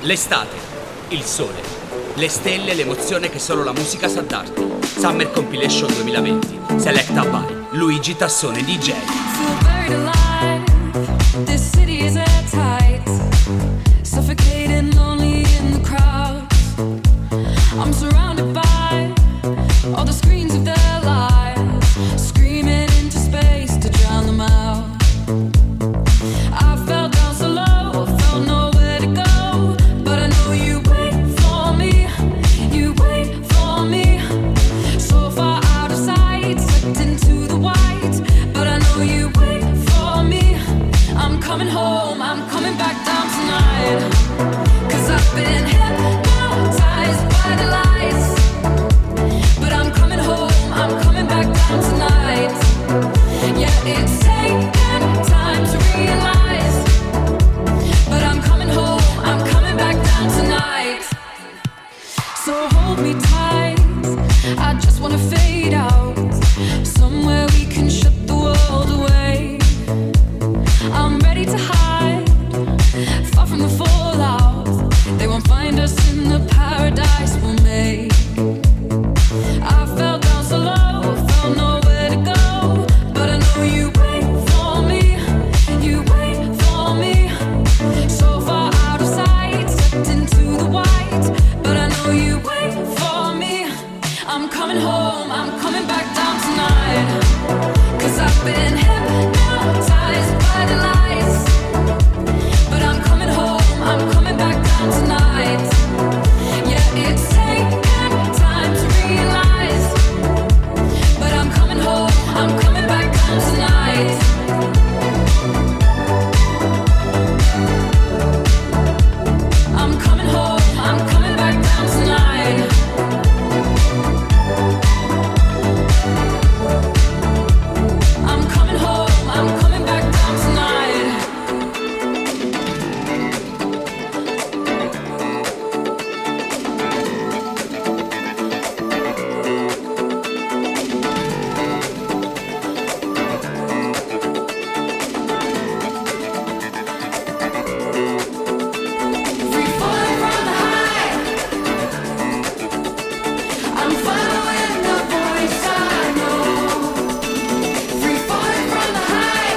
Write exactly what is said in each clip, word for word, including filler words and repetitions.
L'estate, il sole, le stelle, l'emozione che solo la musica sa darti. Summer Compilation duemilaventi, seletta by Luigi Tassone D J. Feel buried alive, this city is at tight, suffocating, lonely in the crowd. I'm surrounded by all the screens of their lives, screaming into space to drown them out. I fell down so low, felt nowhere to go, but I know you wait for me, you wait for me. So far out of sight, slipped into the white, but I know you wait for me. I'm coming home, I'm coming back down tonight, 'cause I've been hypnotized by the lights. But I'm coming home, I'm coming back down tonight. Yeah, it's taken time to realize, but I'm coming home, I'm coming back down tonight. So hold me tight, I just wanna fade out, somewhere we can shut the world away. I'm ready to hide, far from the fallout. They won't find us in the paradise we'll make. I fell down so low, felt nowhere to go, but I know you wait for me, you wait for me. So far out of sight, stepped into the white, but I know you wait for me. I'm coming home, I'm coming back down tonight, 'cause I've been hypnotized by the lights. But I'm coming home, I'm coming back down tonight. Yeah, it's taken time to realize, but I'm coming home, I'm coming back down tonight. I'm coming home, I'm coming back down tonight. I'm coming home, I'm coming back down tonight. Free falling from the high, I'm following the voice I know. Free falling from the high,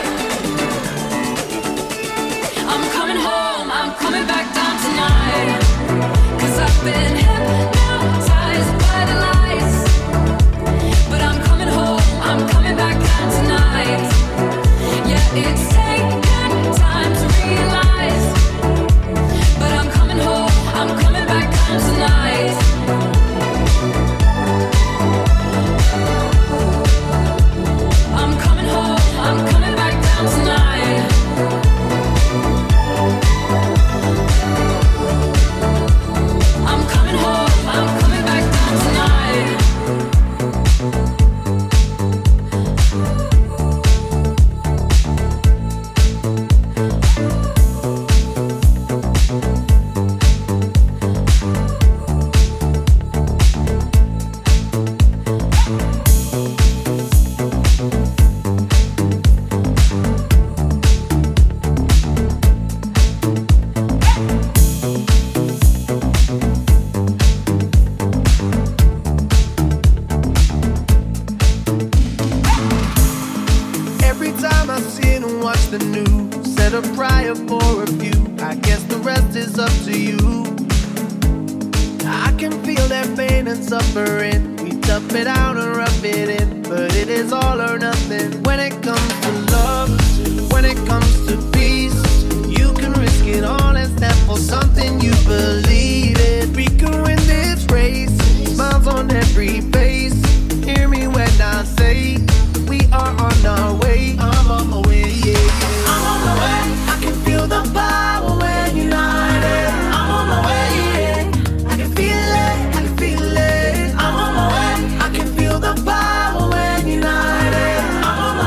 I'm coming home, I'm coming back down tonight, 'cause I've been hypnotized by the lights. But I'm coming home, I'm coming back down tonight. Yeah, it's taken time to realize, but I'm coming home, I'm coming back down tonight. I'm coming home, I'm coming back down tonight. I'm coming home, I'm coming back down tonight. Every time I sit and watch the news, set a prayer for a few. I guess the rest is up to you. I can feel their pain and suffering. We tough it out and rough it in, but it is all or nothing. When it comes to love, when it comes to peace, you can risk it all and stand for something you believe in. We can win this race, smiles on every face. Hear me when I say we are on our way. I'm on my way, yeah, yeah. I'm on my way. I can feel the power when you're united. I'm on my way, yeah. I can feel it, I can feel it. I'm on my way. I can feel the power when you're united. I'm on my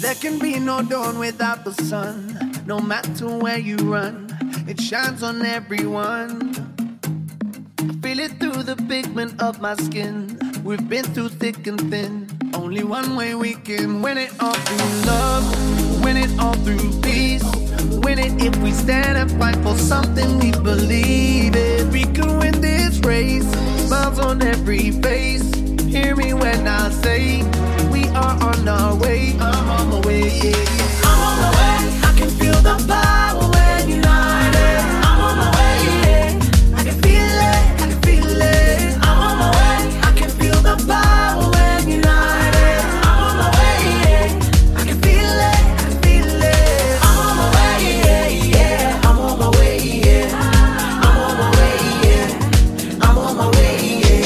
There can be no dawn without the sun. No matter where you run, it shines on everyone. I feel it through the pigment of my skin. We've been through thick and thin. Only one way we can win it all through love. Win it all through peace. Win it if we stand and fight for something we believe in. We can win this race. Smiles on every face. Hear me when I say we are on our way. I'm on my way, yeah, yeah. I'm on my way. I can feel the power when united. I'm on my way, yeah. I can feel it, I can feel it. I'm on my way. I can feel the power when united. I'm on my way, yeah. I can feel it, I can feel it. I'm on my way, yeah, yeah. I'm on my way, yeah. I'm on my way, yeah. I'm on my way, yeah.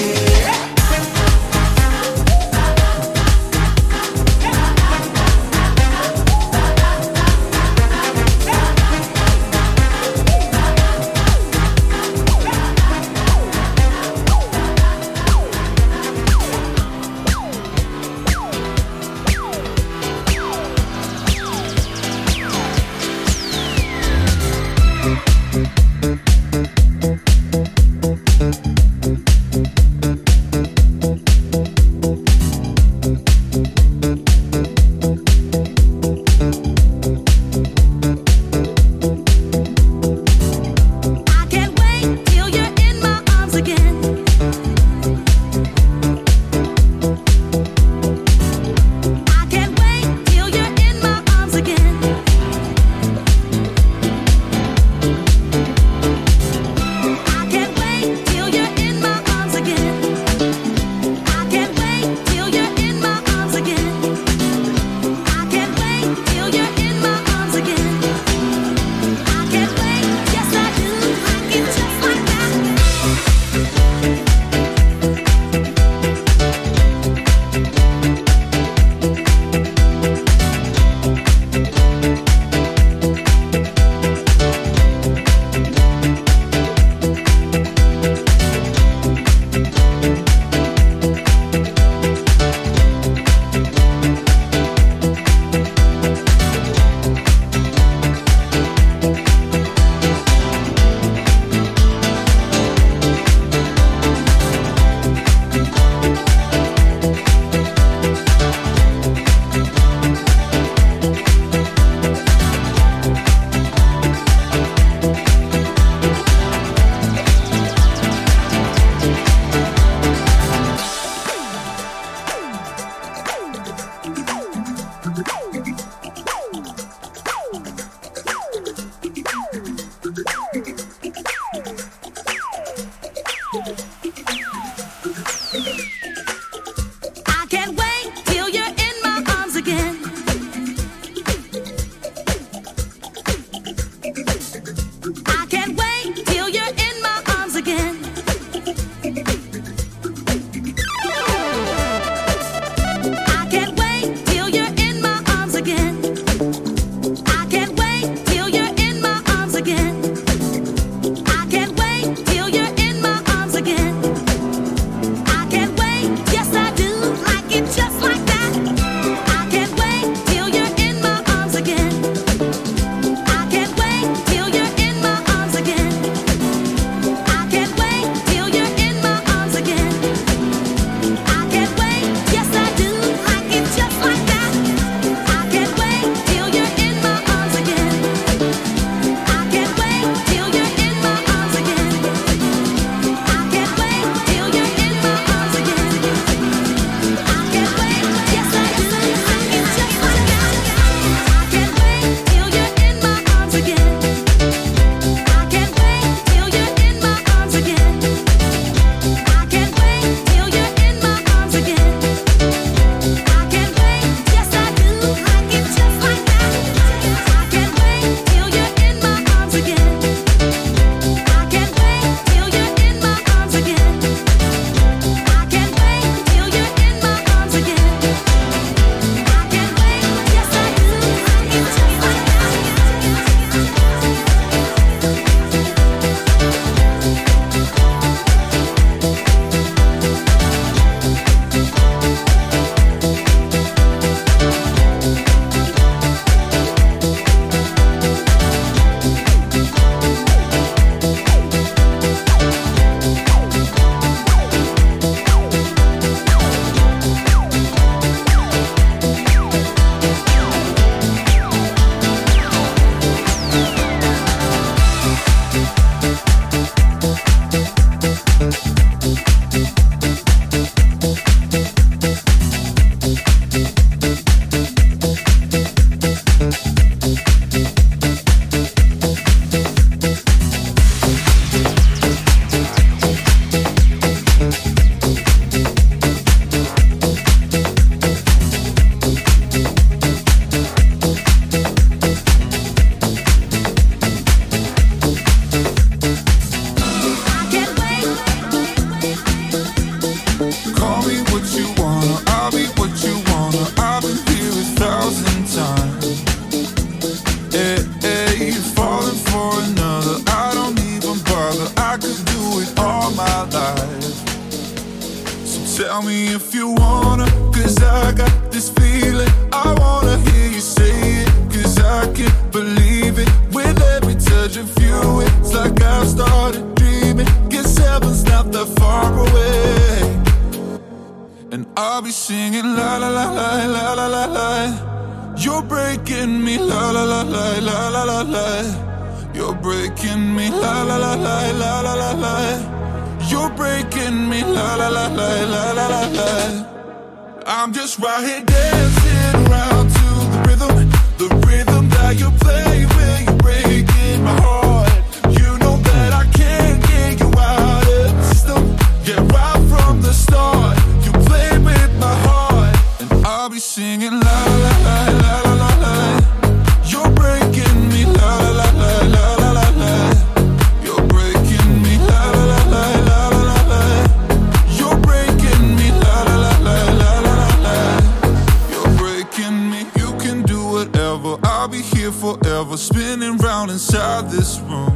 tell me if you wanna, cause I got this feeling. I wanna hear you say it, cause I can't believe it. With every touch of you, it's like I've started dreaming. Guess heaven's not that far away. And I'll be singing la la la la la la la la. You're breaking me la la la la la la la la. You're breaking me la la la la la la la la. You're breaking me la la la la la la la la. I'm just right here dancing around to the rhythm, the rhythm that you play when you're breaking my heart. You know that I can't get you out of the system. Yeah, right from the start, you play with my heart, and I'll be singing la la la la la la la. You're breaking me la la la la la la la. You're breaking me la la la la la la la. You're breaking me la la la la la la la. You're breaking me. You can do whatever. I'll be here forever, spinning round inside this room.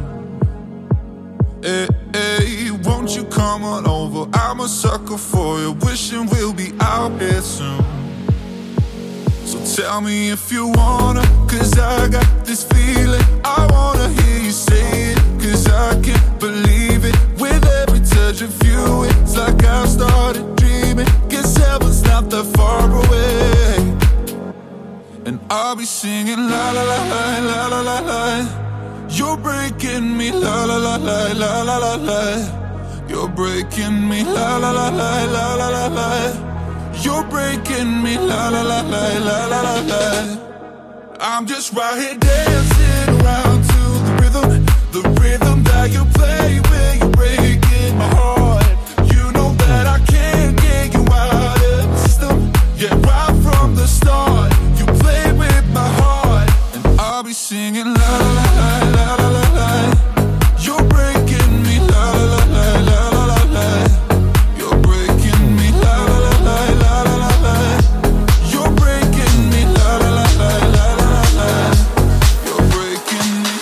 Hey, hey, won't you come on over? I'm a sucker for you, wishing we'll be out here soon. So tell me if you wanna, cause I got this feeling. I wanna hear you say it, cause I can't believe it. With every touch of you, it's like I've started dreaming. Guess heaven's not that far away. And I'll be singing la la la la la la la la. You're breaking me la la la la la la la la. You're breaking me la la la la la la la la. You're breaking me la la la la la la la la. I'm just right here dancing around to the rhythm, the rhythm that you play when you're breaking my heart. You know that I can't get you out of the system. Yeah, right from the start, you play with my heart, and I'll be singing la la la la la la la. You're breaking me la la la la la la la. You're breaking me la la la la la la la la. You're breaking me la la la la la la la. You're breaking me.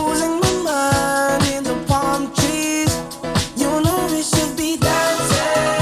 Losing my mind in the palm trees. You know we should be dancing.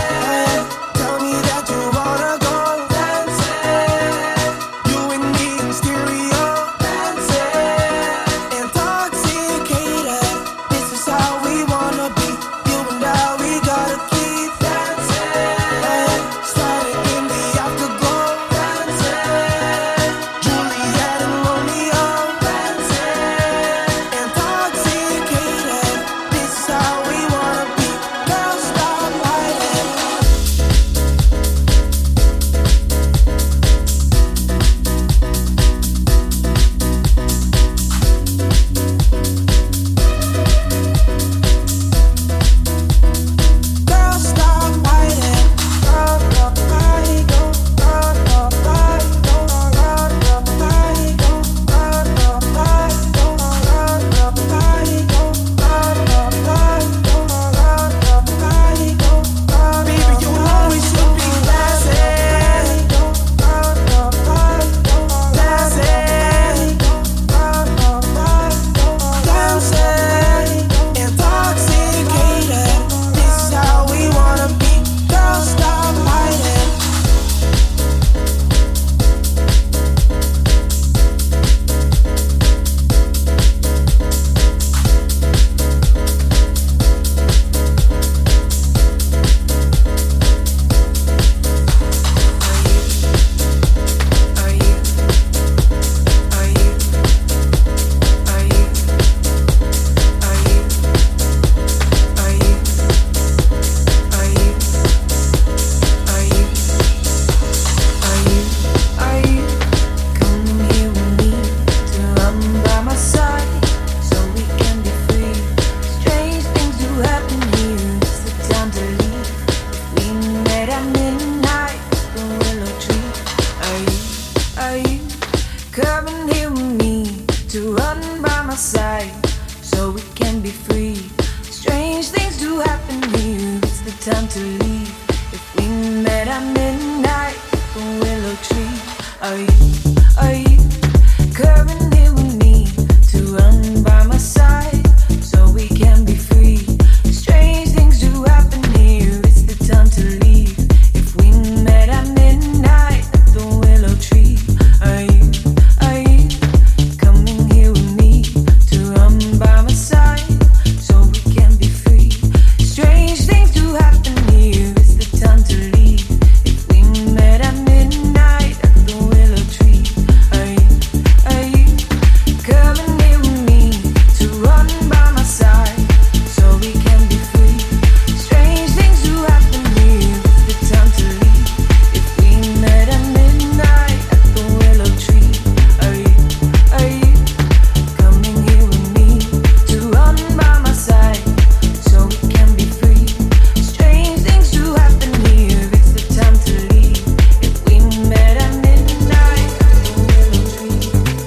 Come and here with me to run by my side so we can be free. Strange things do happen here, it's the time to leave. If we met at midnight, the willow tree. Are you, are you coming here with me to run by my side so we can be free? Strange things do happen here, it's the time to leave. If we met at midnight at the willow tree. Are you, are you coming here with me to run by my side so we can be free? Strange things do happen here, it's the time to leave. If we met at midnight at the willow tree. Are you, are you coming here with me to run by my side so we can be free? Strange things do happen here, it's the time to leave. If we met at midnight at the willow tree. Are you, are you coming here with me to run by my side so we can be free? Strange things do happen here, it's the time to leave. If we met at midnight at the willow tree.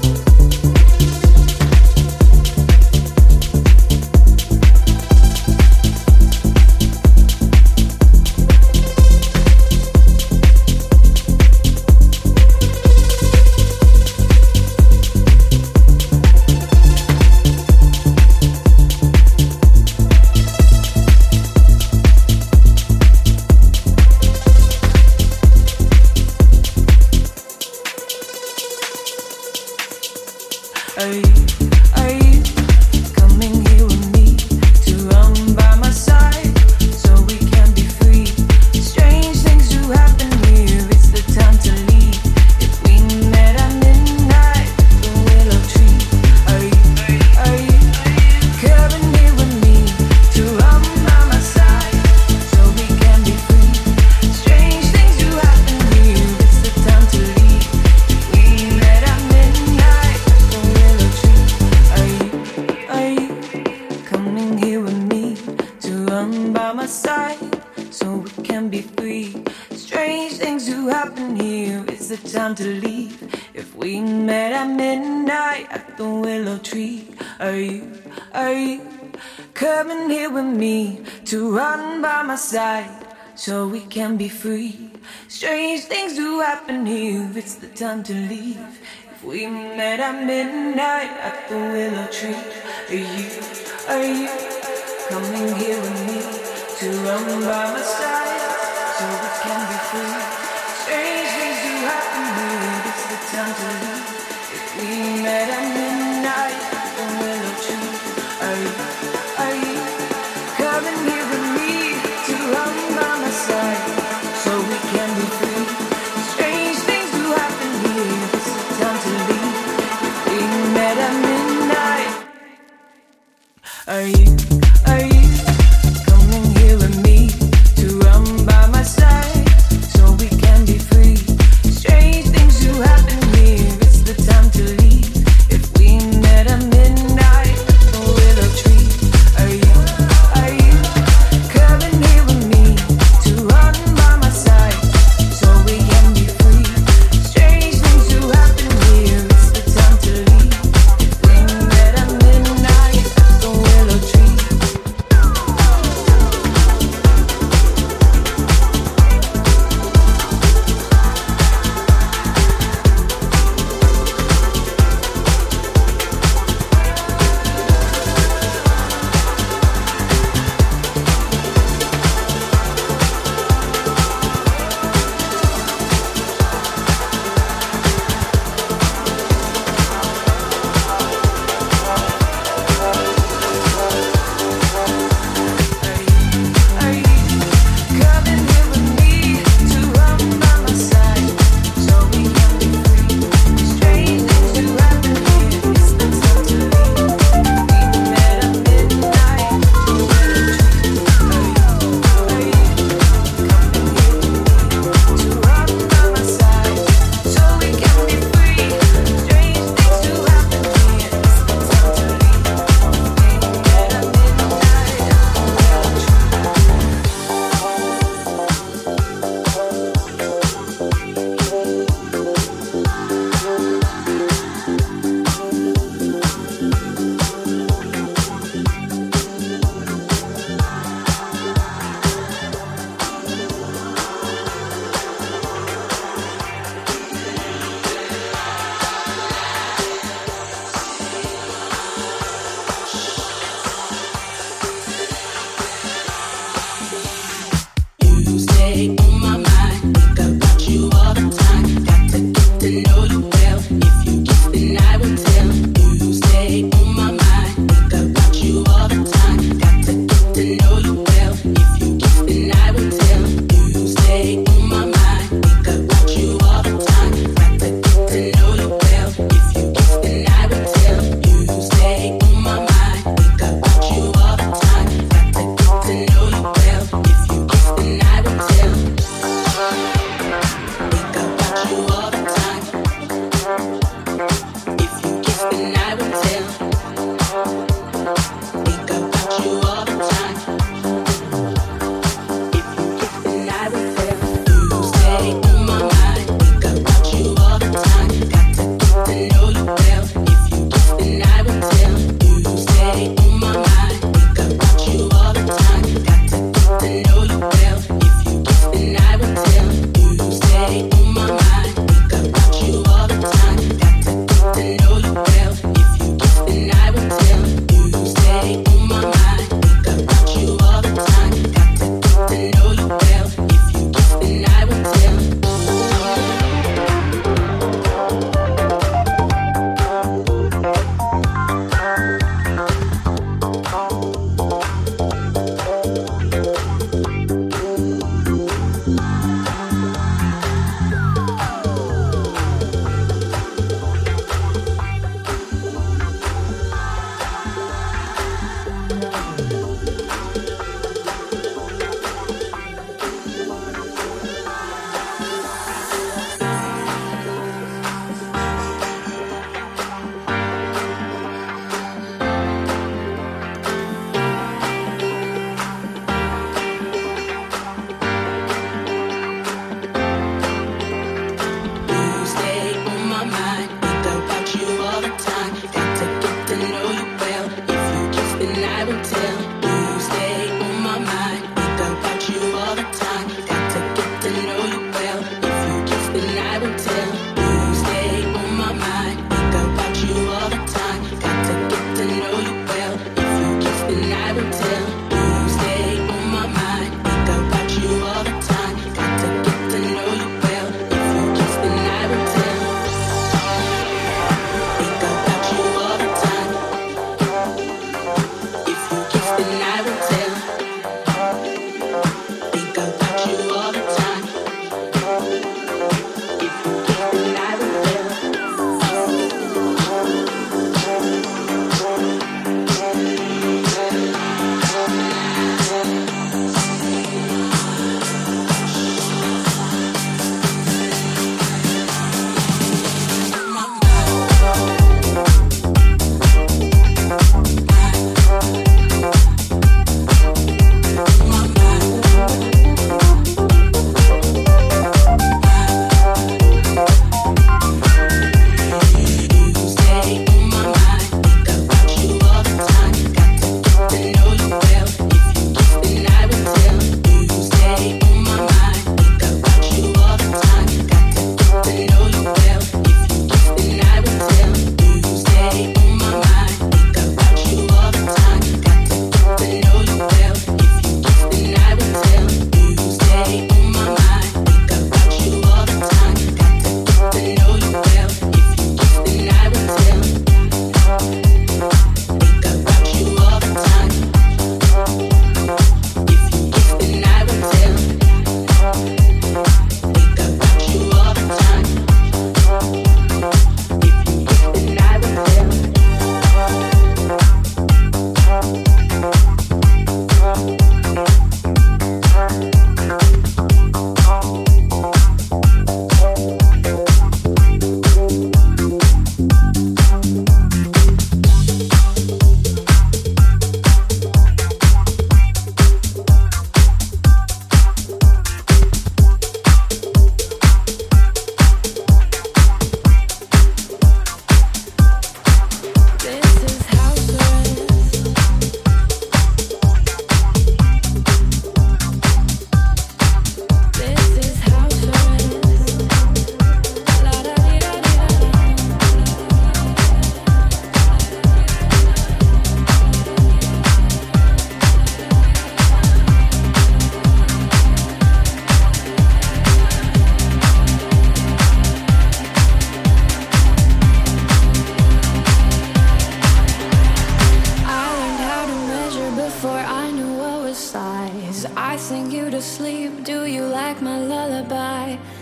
Are you, are you coming here with me to run by my side so we can be free? Strange things do happen here, it's the time to leave. If we met at midnight at the willow tree. Are you, are you coming here with me to run by my side so we can be free? Strange things do happen here, it's the time to leave. If we met at midnight at the willow tree. Are you, are you coming here with me to run by my side so we can be free? Strange things do happen here, it's the time to leave. If we met at midnight at the willow tree. Are you, are you coming here with me to run by my side so we can be free? Strange things do happen here, it's the time to leave. If we met at midnight at the willow tree. Are you, are you coming here with me to run by my side so we can be free? Strange things do happen here, it's the time to leave. If we met at midnight at the willow tree. Are you, are you coming here with me to run by my side so we can be free? Strange things do happen here, it's the time to leave. If we met at midnight. Are you, are you coming here with me to run by my side so we can be free? Strange things do happen here, it's the time to leave. If we met at midnight at the willow tree. Are you, are you coming here with me to run by my side so we can be free? Strange things do happen here, it's the time to leave. If we met at midnight at the willow tree.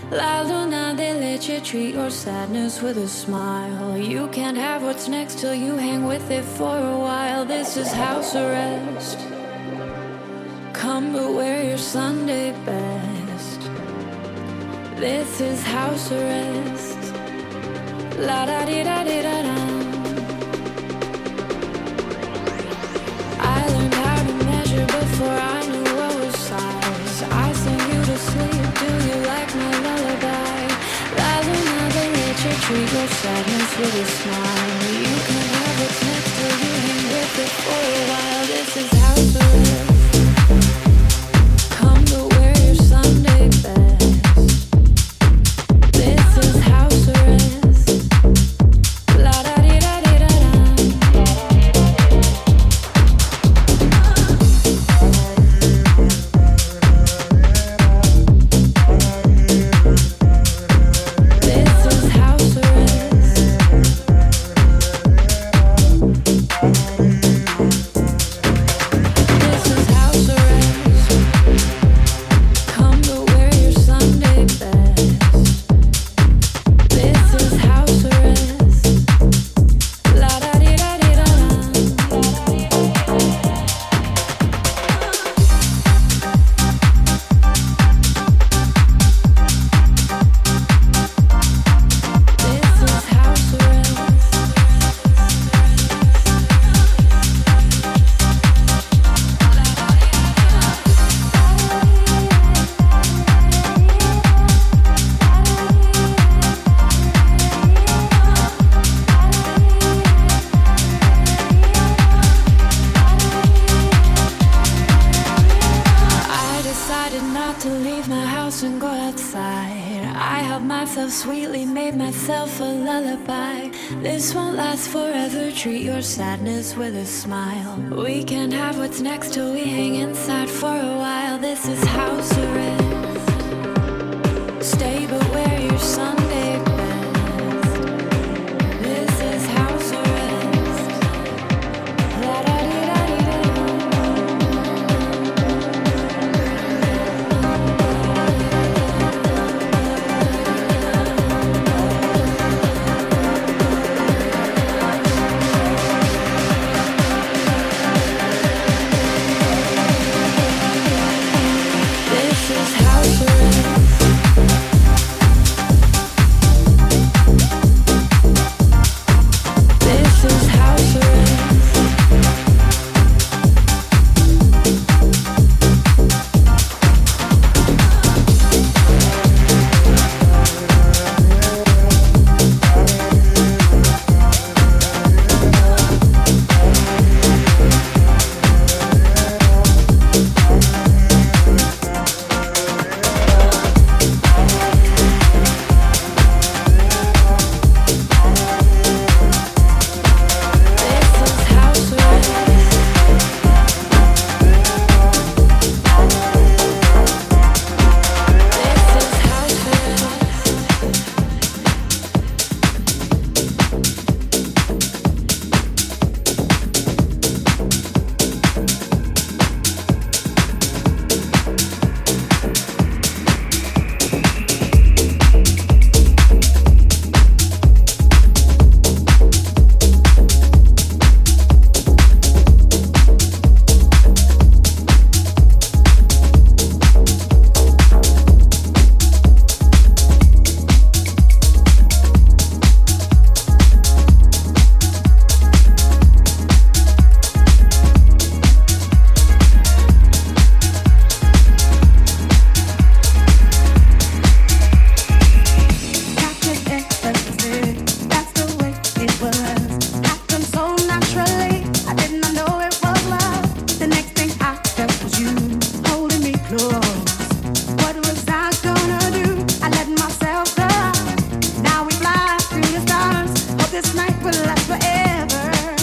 La luna de leche, treat your sadness with a smile. You can't have what's next till you hang with it for a while. This is house arrest. Come but wear your Sunday best. This is house arrest. La da di da di da da. I learned how to measure before I knew what was size. I sing you to sleep. Do you like my lullaby? La luna de leche, treat your sadness with a smile. You can have what's next till you hang with it for a while. This is house arrest. Come to wear your Sunday best. This is house arrest. La da di da di da da. This is house arrest. This is house arrest. Come to wear your Sunday best. This is house arrest. La da di da di da da. This is house arrest. I decided not to leave my house and go outside. I helped myself sweetly, made myself a lullaby. This won't last forever, treat your sadness with a smile. We can't have what's next till we hang inside for a while. This is house arrest. Stay but wear your Sunday best. This is house arrest. La da di da di da. This is house arrest. This is house arrest. This is house arrest. This is house arrest. Captain ecstasy, that's the way it was. Happened so naturally, I did not know it was love. The next thing I felt was you holding me close. What was I gonna do? I let myself go. Now we fly through the stars. Hope this night will last forever.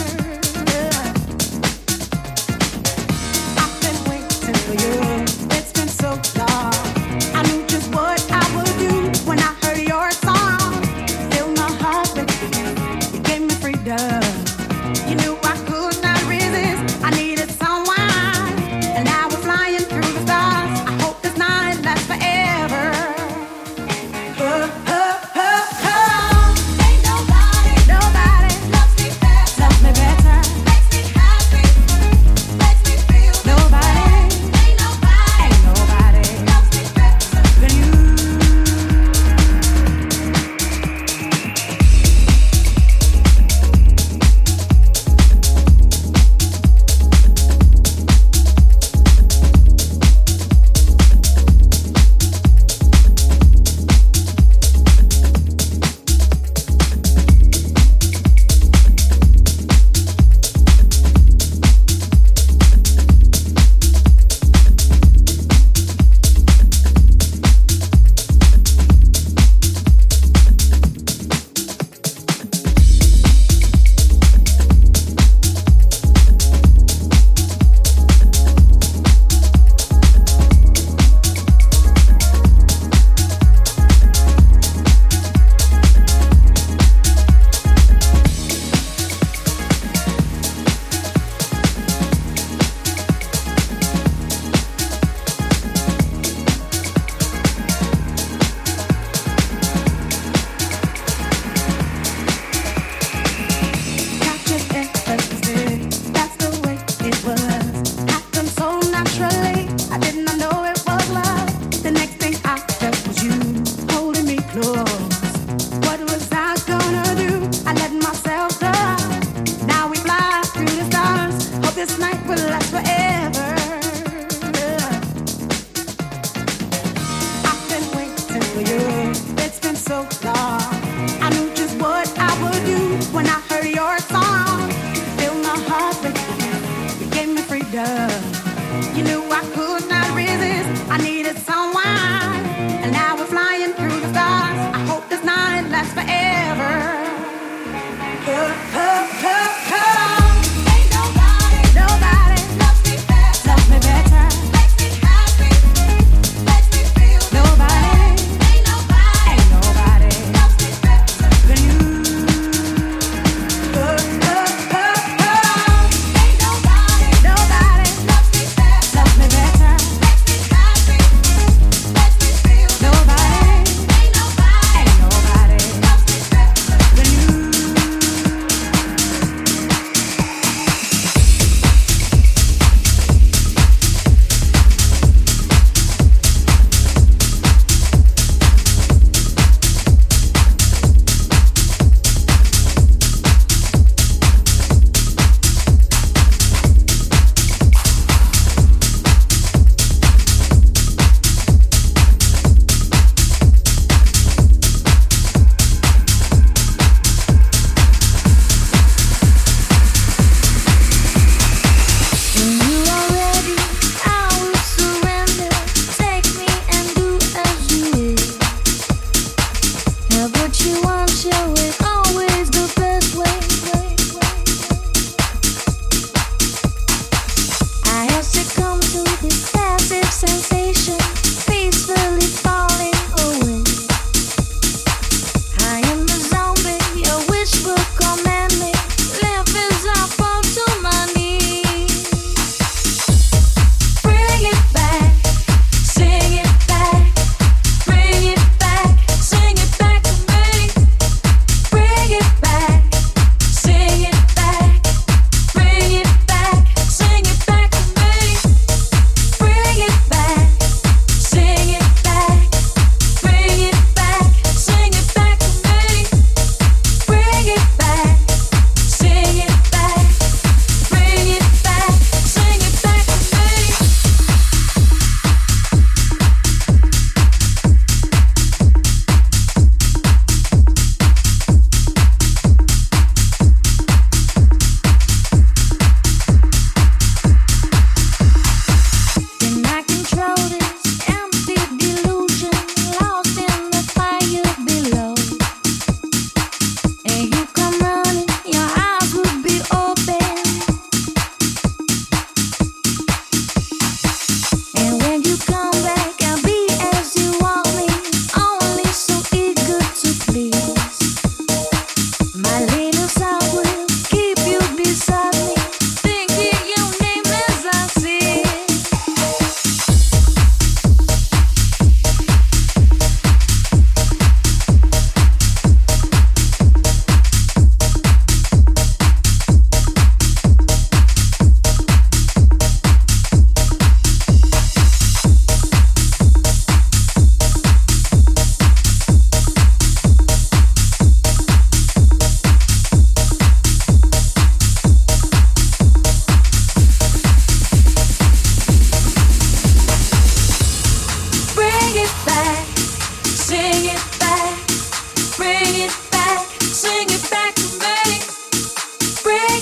I've been waiting for you. It's been so long. I knew just what I would do when I heard your song. Filled my heart with you. You gave me freedom. You knew I could not resist. I needed someone, and now we're flying through the stars. I hope this night lasts forever.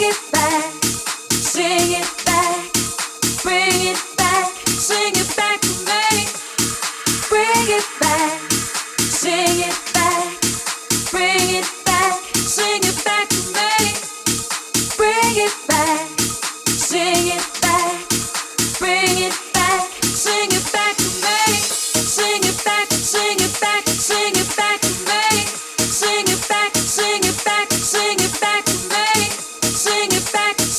Sing it back,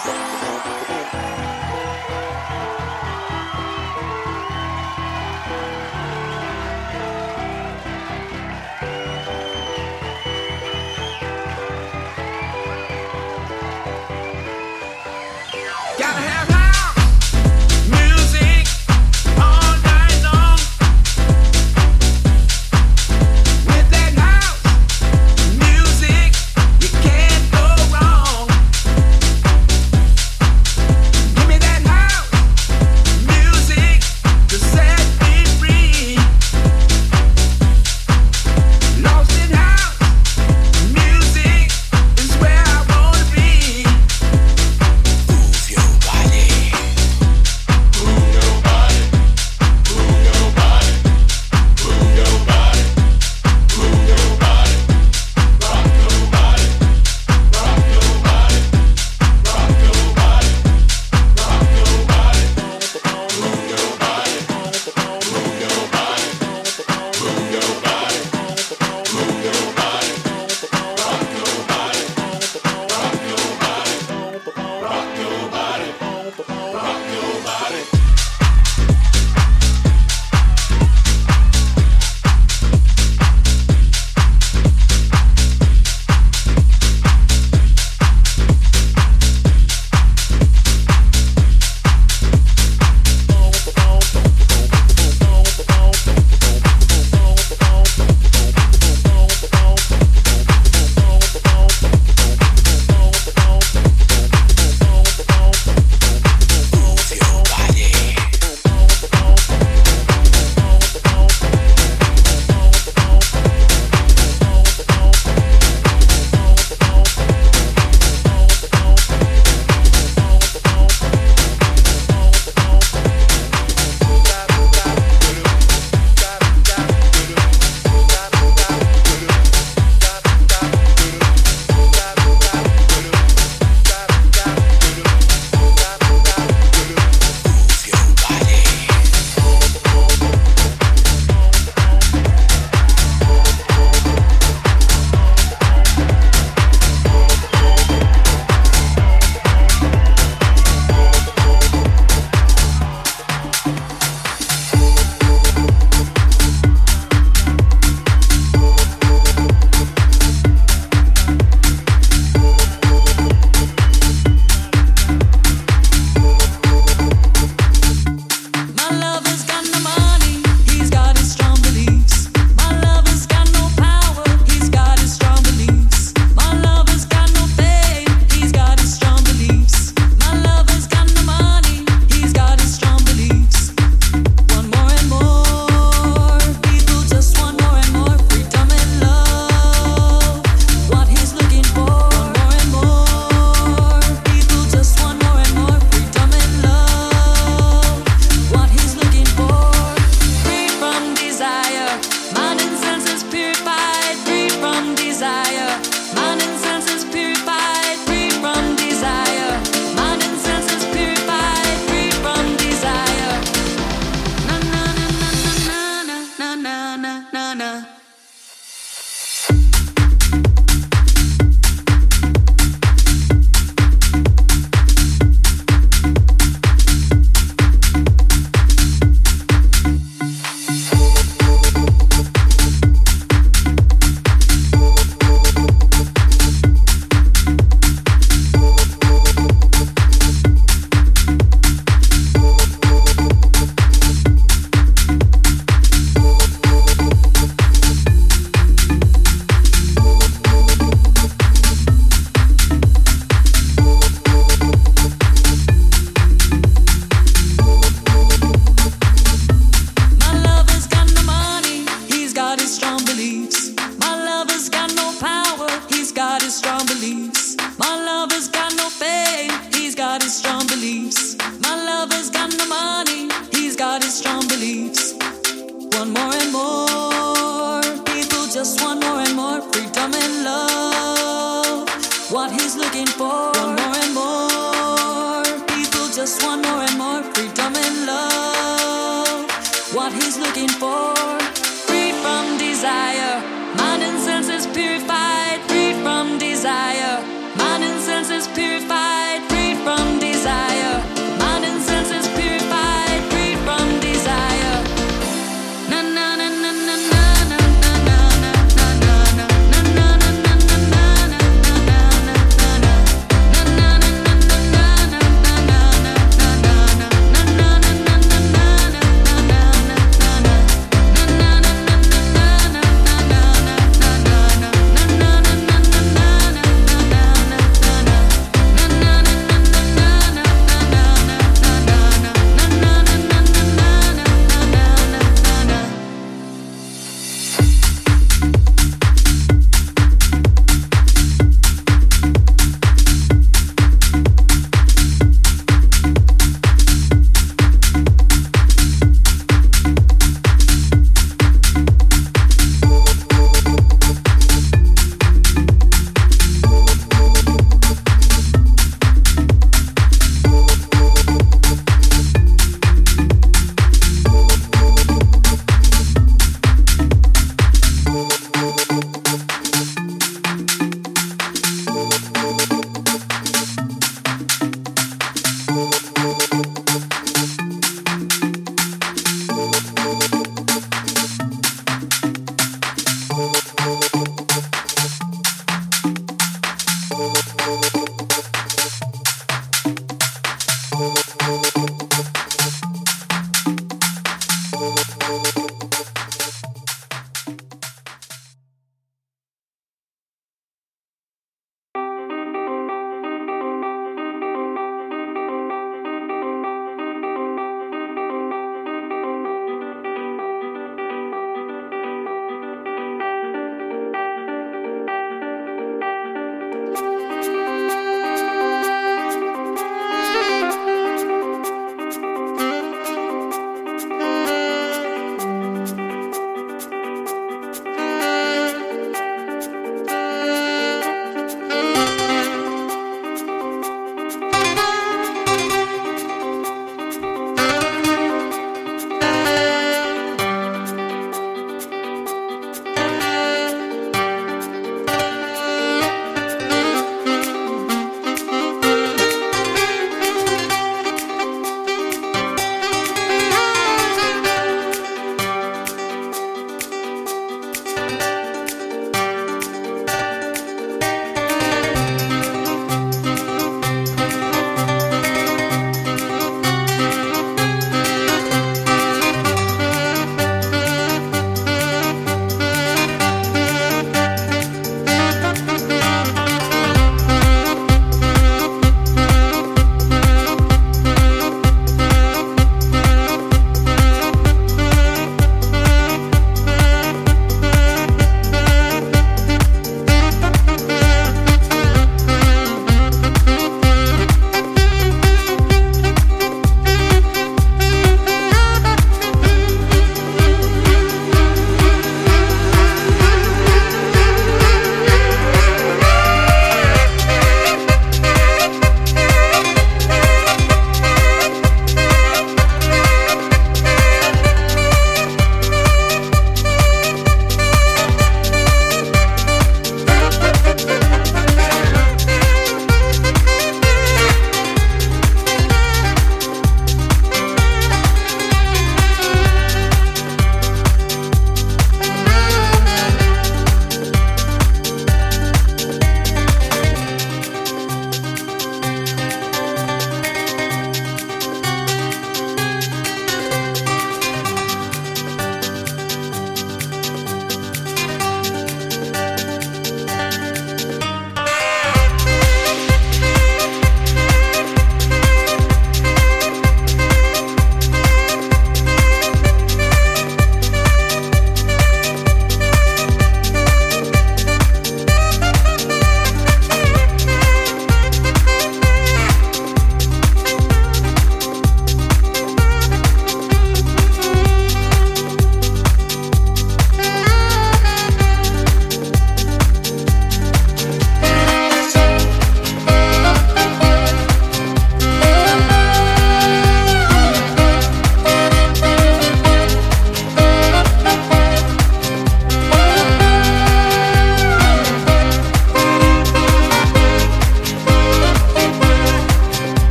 Purified, free from desire. Mind and senses purified, free from